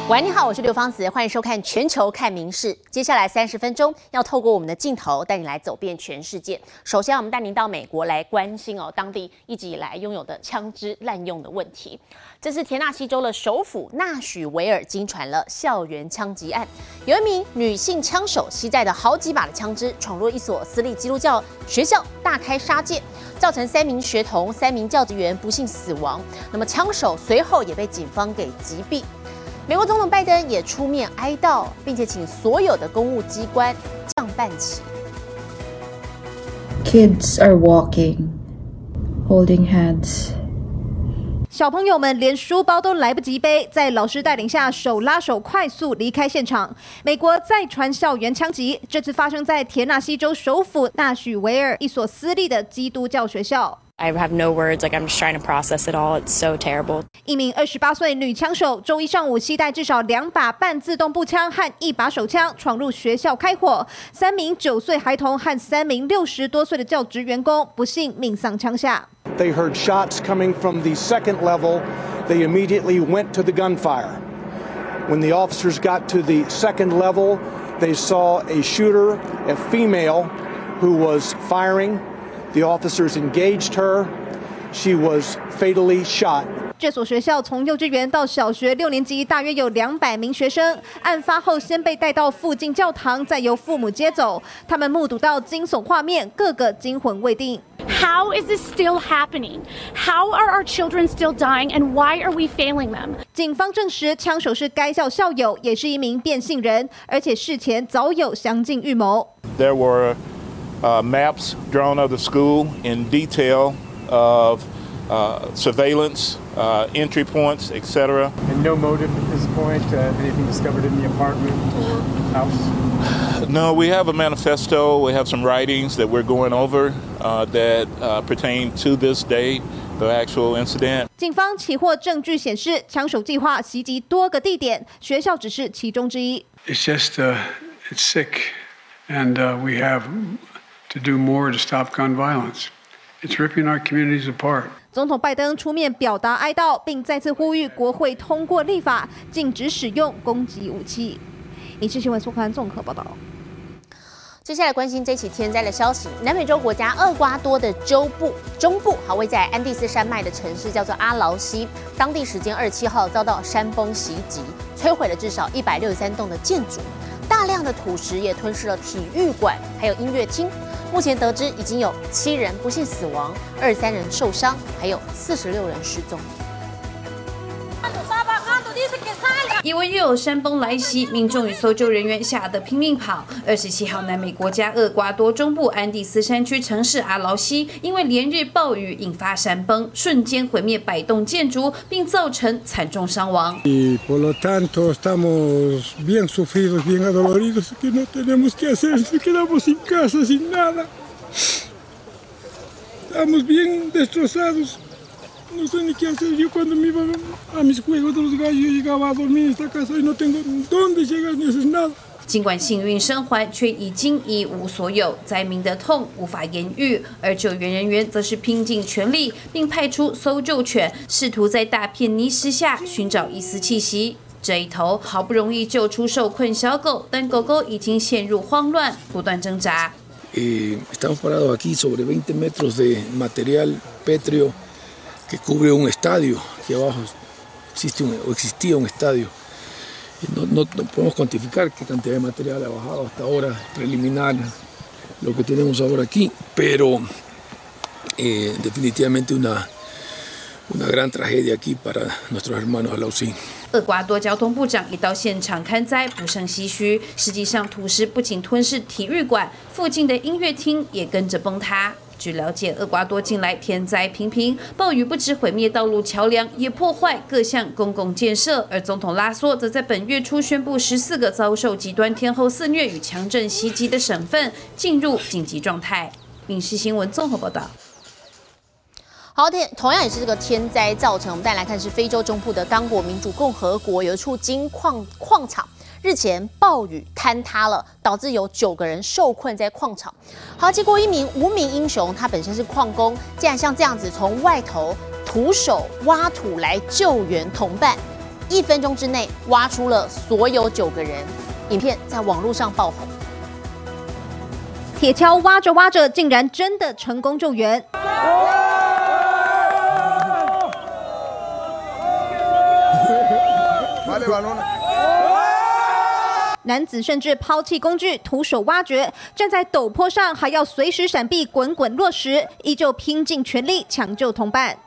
喂，你好，我是刘芳子，欢迎收看《全球看民事》。接下来30分钟要透过我们的镜头带你来走遍全世界。首先，我们带您到美国来关心当地一直以来拥有的枪支滥用的问题。这是田纳西州的首府纳许维尔惊传了校园枪击案，有一名女性枪手携带的好几把的枪支闯入一所私立基督教学校，大开杀戒，造成3名学童、3名教职员不幸死亡。那么枪手随后也被警方给击毙。美国总统拜登也出面哀悼，并且请所有的公务机关降半旗。 Kids are walking, holding hands. 小朋友们连书包都来不及背，在老师带领下手拉手快速离开现场。美国再传校园枪击，这次发生在田纳西州首府纳许维尔一所私立的基督教学校。 I have no words, I'm just trying to process it all. It's so terrible. 一名28岁女枪手周一上午携带至少2把半自动步枪和1把手枪闯入学校开火，3名9岁孩童和3名60多岁的教职员工不幸命丧枪下。 They heard shots coming from the second level. They immediately went to the gunfire. When the officers got to the second level, they saw a shooter, a female, who was firing.The officers engaged her. She was fatally shot. 这所学校从幼稚园到小学6年级，大约有200名学生。案发后，先被带到附近教堂，再由父母接走。他们目睹到惊悚画面，个个惊魂未定。 How is this still happening? How are our children still dying, and why are we failing them? 警方证实，枪手是该校校友，也是一名变性人，而且事前早有详尽预谋。 There were maps drawn of the school in detail of surveillance, entry points, etc. And no motive at this point? Anything discovered in the apartment or house? No, we have a manifesto. We have some writings that we're going over that pertain to this day, the actual incident. 警方起获证据显示，枪手计划袭击多个地点，学校只是其中之一。 It's just, it's sick, and we have.To do more to stop gun violence. It's ripping our communities apart. 总统拜登出面表达哀悼，并再次呼吁国会通过立法，禁止使用攻击武器。影视新闻苏刊综合报道。 接下来关心这起天灾的消息。南美洲国家厄瓜多的中部，位在安第斯山脉的城市叫做阿劳西，当地时间27号遭到山崩袭击，摧毁了至少163栋的建筑。大量的土石也吞噬了体育馆，还有音乐厅。目前得知已经有7人不幸死亡，23人受伤，还有46人失踪。 因为又有山崩来袭，民众与搜救人员吓得拼命跑。27号，南美国家厄瓜多中部安第斯山区城市阿劳西，因为连日暴雨引发山崩，瞬间毁灭100栋建筑，并造成惨重伤亡。 Por lo tanto, estamos bien sufridos, bien adoloridos, que no tenemos qué hacer, nos quedamos sin casa, sin nada. Estamos bien destrozados.No sé ni qué hacer. Yo cuando me iba a mis juegos de los gallos, yo llegaba a dormir en esta casa y no tengo dónde llegar ni hacer nada. 尽管幸运生还，却已经一无所有，灾民的痛无法言喻。而救援人员则是拼尽全力，并派出搜救犬，试图在大片泥石下寻找一丝气息。这一头好不容易救出受困小狗，但狗狗已经陷入慌乱，不断挣扎。 Estamos parados aquí sobre 20 metros de material pétreo.Que cubre un estadio, que abajo existía un estadio. Y no podemos cuantificar qué cantidad de material ha bajado hasta ahora, preliminar, lo que tenemos ahora aquí, pero definitivamente una gran tragedia aquí para nuestros hermanos Alausí. 厄瓜多交通部长也到现场勘灾，不胜唏嘘。实际上，土石不仅吞噬体育馆，附近的音乐厅也跟着崩塌。据了解，厄瓜多近来天灾频频，暴雨不止毁灭道路桥梁，也破坏各项公共建设。而总统拉索则在本月初宣布14个遭受极端天候肆虐与强震袭击的省份进入紧急状态。影视新闻综合报道。 好，同样也是这个天灾造成，我们再来看是非洲中部的刚果民主共和国有一处金矿场，日前暴雨坍塌了，导致有9个人受困在矿场。好，结果一名无名英雄，他本身是矿工，竟然像这样子从外头徒手挖土来救援同伴。 1分钟之内挖出了所有9个人，影片在网络上爆红。 铁锹挖着挖着，竟然真的成功救援。男子甚至抛弃工具，徒手挖掘，站在陡坡上还要随时闪避滚滚落石，依旧拼尽全力抢救同伴。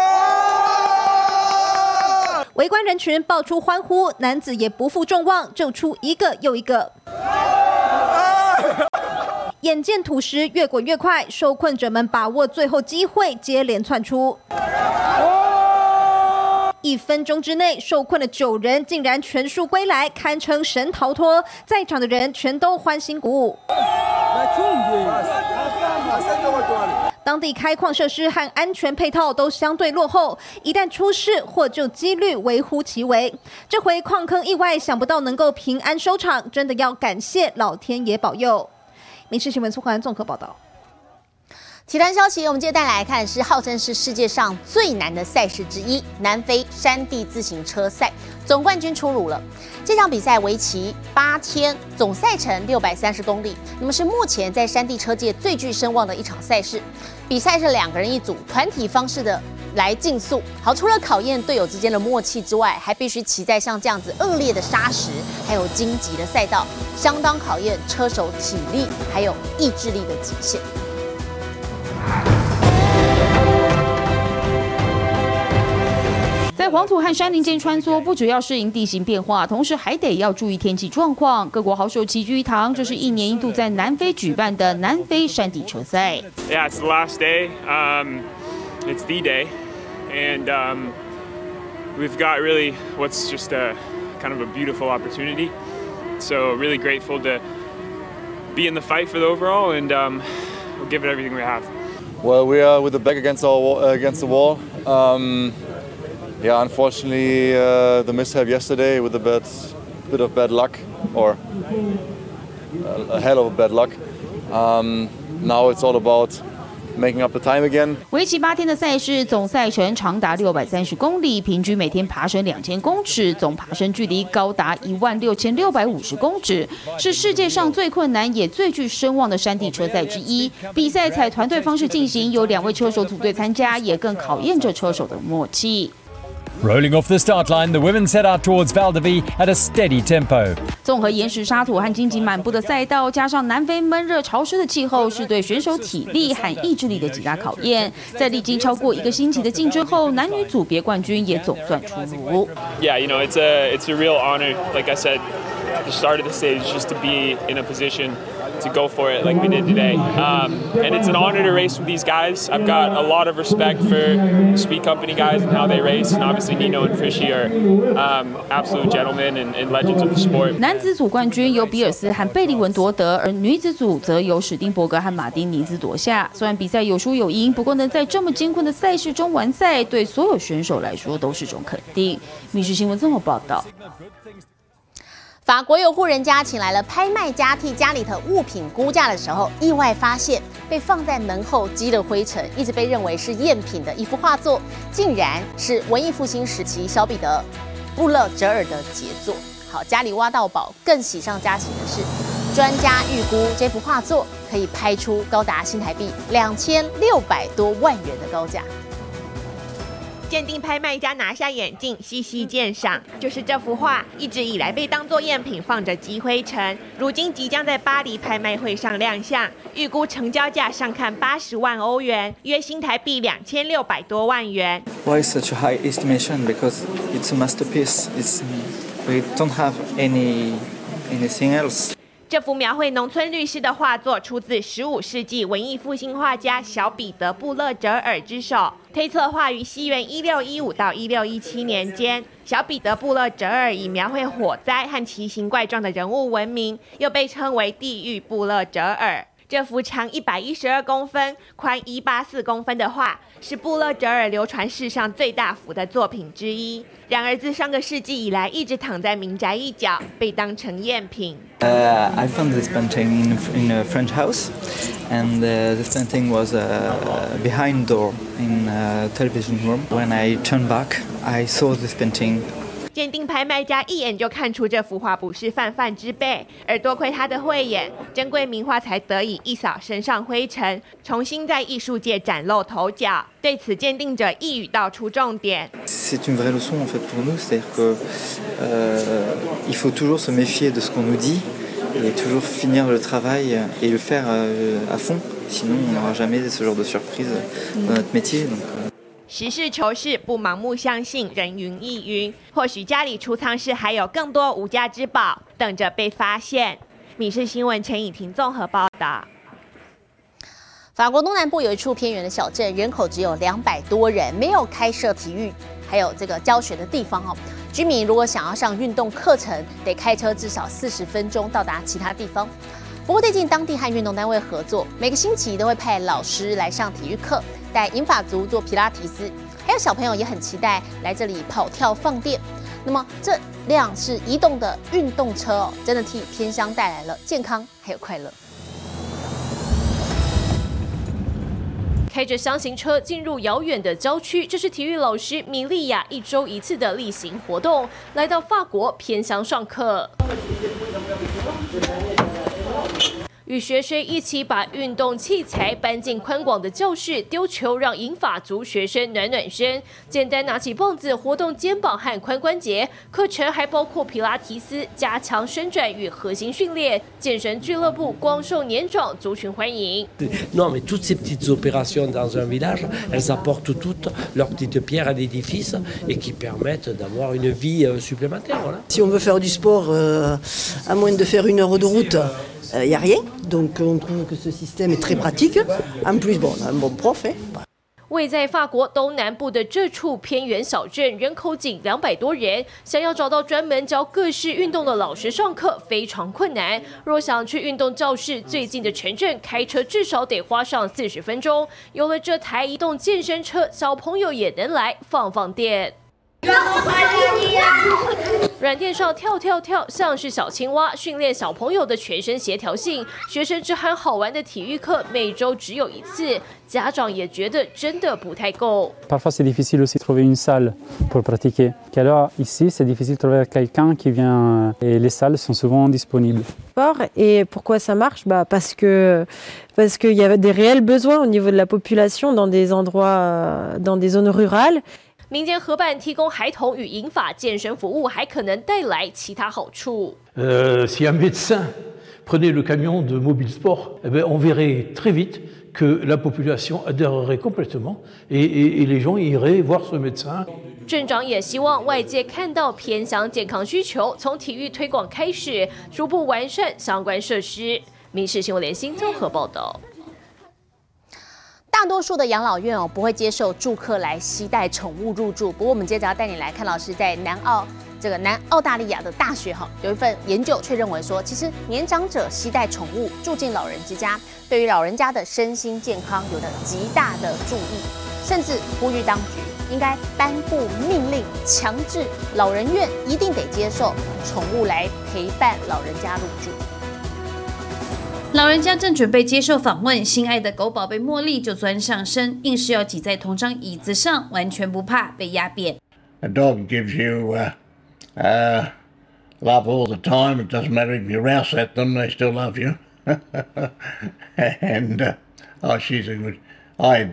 围观人群爆出欢呼，男子也不负众望，救出一个又一个。眼见土石越滚越快，受困者们把握最后机会，接连窜出。1分钟之内，受困的9人竟然全数归来，堪称神逃脱。在场的人全都欢欣鼓舞。当地开矿设施和安全配套都相对落后，一旦出事，获救几率微乎其微。这回矿坑意外，想不到能够平安收场，真的要感谢老天爷保佑。民视新闻苏环综合报道。 体坛消息，我们接着带来看是号称是世界上最难的赛事之一——南非山地自行车赛，总冠军出炉了。这场比赛为期8天，总赛程630公里，那么是目前在山地车界最具声望的一场赛事。比赛是2个人一组，团体方式的来竞速。好，除了考验队友之间的默契之外，还必须骑在像这样子恶劣的沙石，还有荆棘的赛道，相当考验车手体力还有意志力的极限。 在黄土和山林间穿梭，不只要适应地形变化，同时还得要注意天气状况。各国好手齐聚一堂，这是1年1度在南非举办的南非山地车赛。 Yeah, it's the last day. It's the day, and we've got really what's just a kind of a beautiful opportunity. So really grateful to be in the fight for the overall, and we'll give it everything we have. Well, we are with the back against the wall. Yeah, unfortunately, the mishap yesterday with a bit of bad luck, or a hell of a bad luck. Now it's all about making up the time again. 为期8天的赛事，总赛程长达630公里，平均每天爬升2000公尺，总爬升距离高达16650公尺，是世界上最困难也最具声望的山地车赛之一。比赛采团队方式进行，有2位车手组队参加，也更考验着车手的默契。 Rolling off the start line, the women set out towards Val d'Ivie at a steady tempo. 综合岩石、沙土和荆棘满布的赛道，加上南非闷热潮湿的气候，是对选手体力和意志力的极大考验。在历经超过1个星期的竞争后，男女组别冠军也总算出炉。 Yeah, you know, it's a real honor. Like I said at the start of the stage, just to be in a position to go for it like we did today. And it's an honor to race with these guys. I've got a lot of respect for the Speed Company guys and how they race, and obviously Nino and Frishy are absolute gentlemen and legends of the sport. 男子组冠军由比尔斯和贝利文夺得，而女子组则由史丁伯格和马丁尼兹夺下。虽然比赛有输有赢，不过能在这么艰困的赛事中完赛，对所有选手来说都是种肯定。民视新闻综合报道。 法国有户人家请来了拍卖家，替家里的物品估价的时候，意外发现被放在门后积了灰尘，一直被认为是赝品的一幅画作，竟然是文艺复兴时期小彼得·布勒哲尔的杰作。好，家里挖到宝，更喜上加喜的是，专家预估这幅画作可以拍出高达新台币2600多万元的高价。 鉴定拍卖家拿下眼镜，细细鉴赏，就是这幅画一直以来被当作赝品放着积灰尘，如今即将在巴黎拍卖会上亮相，预估成交价上看80万欧元，约新台币2600多万元。 Why such a high estimation? Because it's a masterpiece. We don't have anything else. 这幅描绘农村律师的画作出自15世纪文艺复兴画家小彼得·布勒哲尔之手，推测画于西元1615到1617年间。小彼得·布勒哲尔以描绘火灾和奇形怪状的人物闻名，又被称为地狱布勒哲尔。这幅长112公分、宽184公分的画，是布勒哲尔流传世上最大幅的作品之一。然而，自上个世纪以来，一直躺在民宅一角，被当成赝品。 I found this painting in a French house, and this painting was behind door in a television room. When I turned back, I saw this painting 鉴定拍卖家一眼就看出这幅画不是泛泛之辈，而多亏他的慧眼，珍贵名画才得以一扫身上灰尘，重新在艺术界崭露头角。对此，鉴定者一语道出重点。 C'est une vraie leçon en fait pour nous, c'est-à-dire que il faut toujours se méfier de ce qu'on nous dit et toujours finir le travail et le faire à fond. Sinon, on n'aura jamais ce genre de surprise dans notre métier. Donc, 实事求是，不盲目相信人云亦云。或许家里储藏室还有更多无价之宝等着被发现。民视新闻陈以婷综合报道。 法国东南部有一处偏远的小镇，人口只有200多人，没有开设体育还有这个教学的地方哦。居民如果想要上运动课程，得开车至少40分钟到达其他地方。不过最近当地和运动单位合作，每个星期都会派老师来上体育课，带银发族做皮拉提斯，还有小朋友也很期待来这里跑跳放电。那么这辆是移动的运动车哦，真的替偏乡带来了健康还有快乐。 开着箱型车进入遥远的郊区，这是体育老师米莉亚1周1次的例行活动。来到法国偏乡上课，与学生一起把运动器材搬进宽广的教室，丢球让银发族学生暖暖身。简单拿起棒子活动肩膀和髋关节。课程还包括皮拉提斯，加强伸展与核心训练。健身俱乐部广受年长族群欢迎。 Non, mais toutes ces petites opérations dans un village, elles apportent toutes leur petite pierre à l'édifice et qui permettent d'avoir une vie supplémentaire. Voilà. Si on veut faire du sport, à moins de faire 1 heure de route, il n'y a rien. Donc on trouve que ce système est très pratique. En plus, bon, on a un bon prof. 位在法国东南部的这处偏远小镇，人口仅200多人，想要找到专门教各式运动的老师上课非常困难。若想去运动教室最近的城镇，开车至少得花上40分钟。有了这台移动健身车，小朋友也能来放放电。软垫上跳跳跳，像是小青蛙，训练小朋友的全身协调性。学生只喊好玩的体育课，每周只有1次，家长也觉得真的不太够。 Parfois c'est difficile aussi de trouver une salle pour pratiquer. Alors ici c'est difficile de trouver quelqu'un qui vient et les salles sont souvent disponibles. Et pourquoi ça marche? Parce qu'il y a des réels besoins au niveau de la population dans des endroits, dans des zones rurales. 民间合办提供孩童与银发健身服务，还可能带来其他好处。 Si un médecin prenait le camion de Mobile Sport, on verrait très vite que la population adhérerait complètement et les gens iraient voir ce médecin. 镇长也希望外界看到偏乡健康需求，从体育推广开始，逐步完善相关设施。民视新闻联新综合报道。 大多数的养老院不会接受住客来携带宠物入住。不过我们接着要带你来看，老师在南澳大利亚的大学有一份研究却认为说，其实年长者携带宠物住进老人之家，对于老人家的身心健康有着极大的注意，甚至呼吁当局应该颁布命令，强制老人院一定得接受宠物来陪伴老人家入住。 老人家正准备接受访问，心爱的狗宝贝茉莉就钻上身，硬是要挤在同张椅子上，完全不怕被压扁。 A dog gives you love all the time. It doesn't matter if you rouse at them; they still love you. And she's a good. I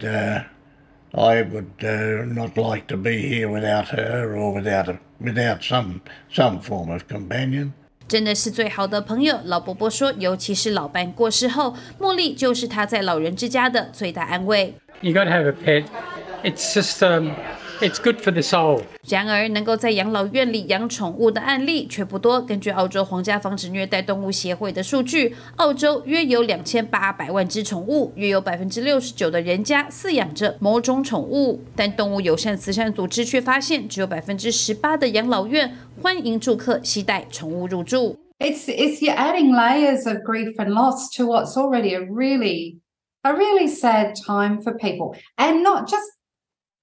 would not like to be here without her or without some form of companion. 真的是最好的朋友，老伯伯说，尤其是老伴过世后，茉莉就是他在老人之家的最大安慰。 You got to have a pet. It's just it's good for the soul. 然而，能够在养老院里养宠物的案例却不多。根据澳洲皇家防止虐待动物协会的数据，澳洲约有2800万只宠物，约有69%的人家饲养着某种宠物。但动物友善慈善组织却發現，只有18%的养老院歡迎住客攜帶寵物入住。 It's you're adding layers of grief and loss to what's already a really sad time for people, and not just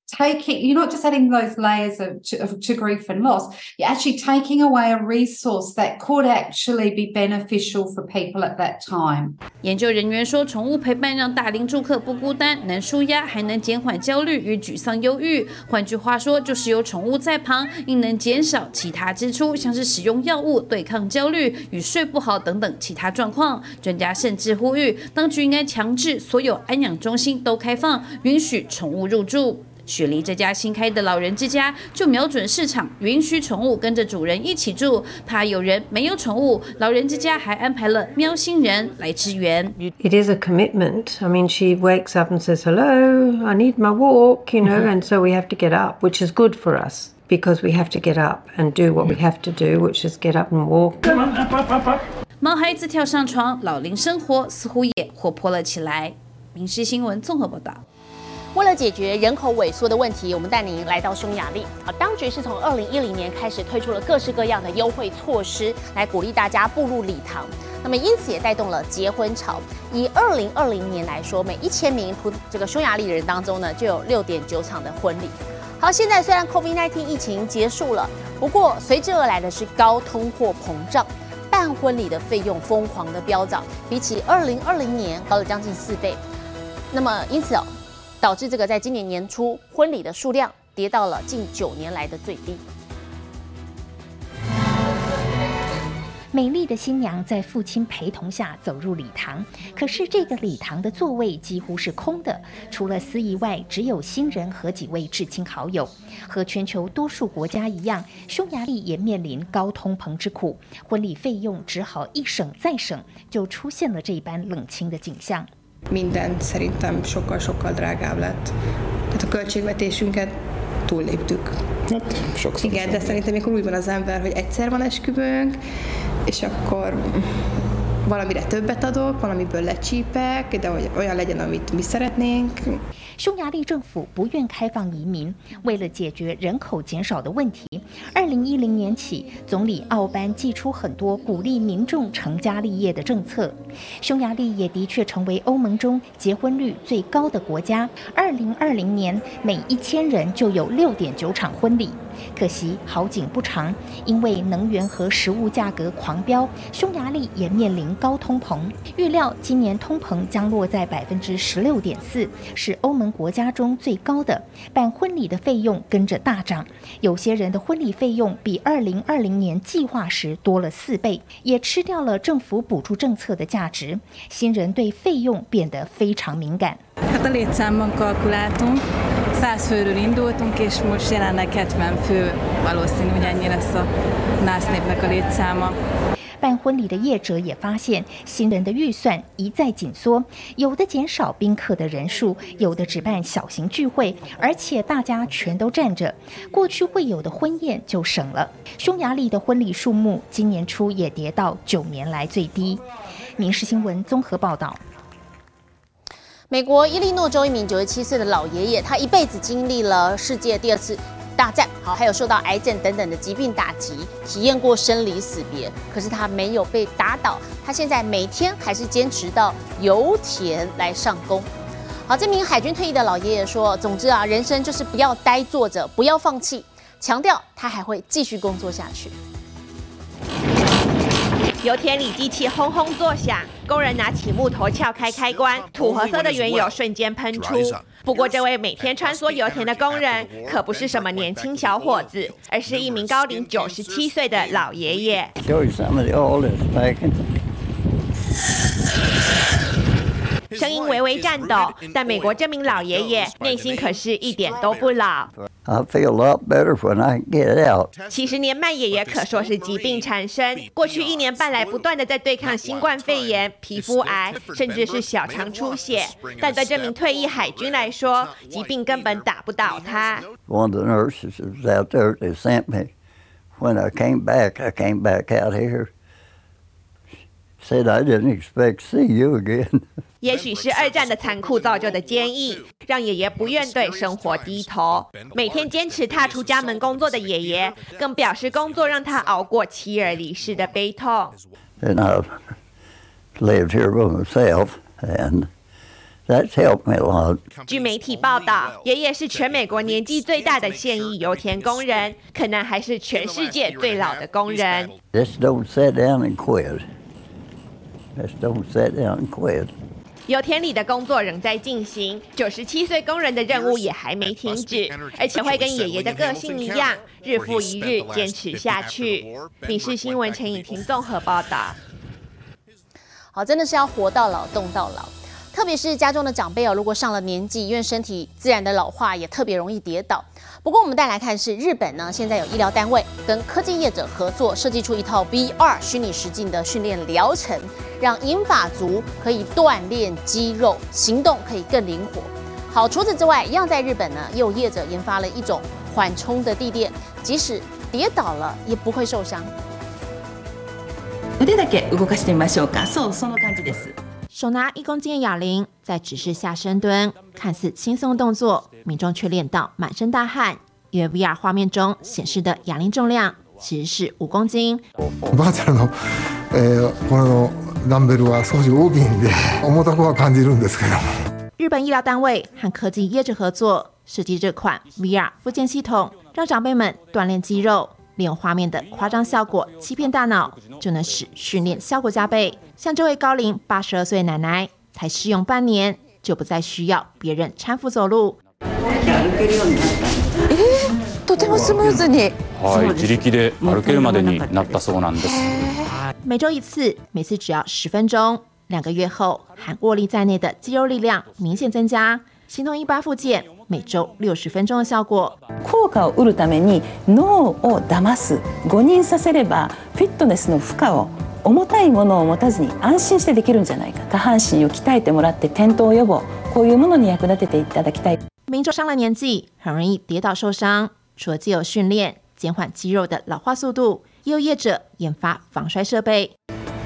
you're not just adding those layers to grief and loss, you're actually taking away a resource that could actually be beneficial for people at that time. 研究人员说，宠物陪伴让大龄住客不孤单，能舒压，还能减缓焦虑与沮丧、忧郁。换句话说，就是有宠物在旁，应能减少其他支出，像是使用药物对抗焦虑与睡不好等等其他状况。专家甚至呼吁，当局应该强制所有安养中心都开放，允许宠物入住。雪梨这家新开的老人之家就瞄准市场，允许宠物跟着主人一起住，怕有人没有宠物，老人之家还安排了喵星人来支援。 It is a commitment. I mean, she wakes up and says, "Hello, I need my walk," you know, and so we have to get up, which is good for us because we have to get up and do what we have to do, which is get up and walk. 毛孩子跳上床，老龄生活似乎也活泼了起来。民视新闻综合报道。 为了解决人口萎缩的问题，我们带您来到匈牙利。当局是从2010年开始推出了各式各样的优惠措施，来鼓励大家步入礼堂。那么因此也带动了结婚潮。以2020年来说，每1000名这个匈牙利人当中呢，就有6.9场的婚礼。好，现在虽然 COVID-19 疫情结束了，不过随之而来的是高通货膨胀，办婚礼的费用疯狂的飙涨，比起2020年高了将近4倍。那么因此导致这个在今年年初婚礼的数量跌到了近9年来的最低。 美丽的新娘在父亲陪同下走入礼堂，可是这个礼堂的座位几乎是空的，除了司仪外，只有新人和几位至亲好友。和全球多数国家一样，匈牙利也面临高通膨之苦，婚礼费用只好一省再省，就出现了这般冷清的景象。 Minden szerintem sokkal drágább lett. Tehát a költségvetésünket túlléptük. Igen, de szerintem mikor úgy van az ember, hogy egyszer van esküvőnk, és akkor valamire többet adok, valamiből lecsípek, de hogy olyan legyen, amit mi szeretnénk. 匈牙利政府不愿开放移民，为了解决人口减少的问题，2010年起，总理奥班祭出很多鼓励民众成家立业的政策。匈牙利也的确成为欧盟中结婚率最高的国家，2020年每1000人就有6.9场婚礼。可惜好景不长，因为能源和食物价格狂飙，匈牙利也面临高通膨。预料今年通膨将落在16.4%，是欧盟国家中最高的。办婚礼的费用跟着大涨，有些人的婚礼费用比2020年计划时多了4倍，也吃掉了政府補助政策的價值。新人對費用變得非常敏感。 Hát a létszámban kalkuláltunk, 100 főről indultunk, és most jelenleg 70 fő, valószínű, hogy ennyi lesz a NASZ népnek a létszáma。 办婚礼的业者也发现，新人的预算一再紧缩，有的减少宾客的人数，有的只办小型聚会，而且大家全都站着，过去会有的婚宴就省了。匈牙利的婚礼数目今年初也跌到9年来最低。民视新闻综合报道。 美国伊利诺州一名97岁的老爷爷，他一辈子经历了世界第2次大战，还有受到癌症等等的疾病打击，体验过生离死别。可是他没有被打倒，他现在每天还是坚持到油田来上工。好，这名海军退役的老爷爷说：“总之啊，人生就是不要呆坐着，不要放弃。”强调他还会继续工作下去。 油田里机器轰轰作响，工人拿起木头撬开开关，土褐色的原油瞬间喷出。不过，这位每天穿梭油田的工人可不是什么年轻小伙子，而是一名高龄97岁的老爷爷。声音微微颤抖，但美国这名老爷爷内心可是一点都不老。 I feel a lot better when I get out. 70年迈爷爷可说是疾病缠身，过去1年半来不断的在对抗新冠肺炎、皮肤癌，甚至是小肠出血。但对这名退役海军来说，疾病根本打不倒他。 One of the nurses was out there. They sent me. When I came back out here. Said I didn't expect to see you again. 也许是2战的残酷造就的坚毅，让爷爷不愿对生活低头。每天坚持踏出家门工作的爷爷，更表示工作让他熬过妻儿离世的悲痛。 And I lived here by myself, and That's helped me a lot. 据媒体报道，爷爷是全美国年纪最大的现役油田工人，可能还是全世界最老的工人。 Just don't sit down and quit. Just don't sit down and quit. 油田里的工作仍在进行，97岁工人的任务也还没停止，而且会跟爷爷的个性一样，日复一日坚持下去。民视新闻陈颖婷综合报道。 好，真的是要活到老，动到老。特别是家中的长辈哦，如果上了年纪，因为身体自然的老化，也特别容易跌倒。不过我们再来看是日本呢，现在有医疗单位跟科技业者合作，设计出一套 VR 虚拟实境的训练疗程，让银发族可以锻炼肌肉，行动可以更灵活。好，除此之外，一样在日本呢，也有业者研发了一种缓冲的地垫，即使跌倒了也不会受伤。 腕だけ動かしてみましょうか。そう、その感じです。 手拿1公斤的哑铃，在指示下深蹲，看似轻松动作，民众却练到满身大汗，因为 VR 画面中显示的哑铃重量其实是5公斤。 バーチャルの、このダンベルは少し大きいんで重たくは感じるんですけども。 日本医疗单位和科技业者合作，设计这款 VR 复健系统，让长辈们锻炼肌肉。利用画面的夸张效果欺骗大脑，就能使训练效果加倍。像这位高龄82岁奶奶，才试用半年，就不再需要别人搀扶走路。 とてもスムーズに。 自力で歩けるまでになったそうなんです。 每周1次，每次只要10分钟。2个月后，含握力在内的肌肉力量明显增加，形同一般复健。每周60分钟的效果。 効果を得るために脳を騙す、誤認させればフィットネスの負荷を重たいものを持たずに安心してできるんじゃないか。下半身を鍛えてもらって転倒予防、こういうものに役立てていただきたい。 民众上了年纪，很容易跌倒受伤，除了藉由训练减缓肌肉的老化速度，也有业者研发防摔设备。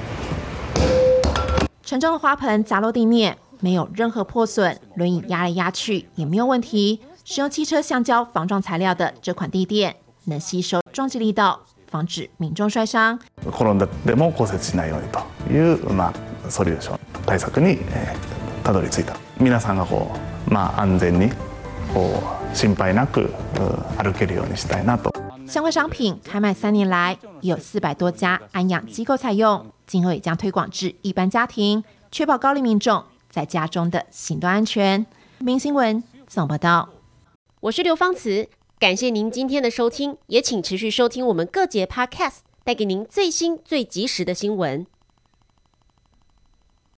沉重的花盆砸落地面。没有任何破损，轮椅压来压去也没有问题。使用汽车橡胶防撞材料的这款地垫，能吸收撞击力道，防止民众摔伤。 転んでも骨折しないようにというソリューション対策にたどり着いた。皆さんが安全に心配なく歩けるようにしたいなと。 相关商品开卖3年来，也有400多家安养机构采用，今后也将推广至一般家庭，确保高龄民众在家中的行动安全。明新闻总报道， 我是刘芳慈，感谢您今天的收听，也请持续收听我们各节 Podcast， 带给您最新最及时的新闻。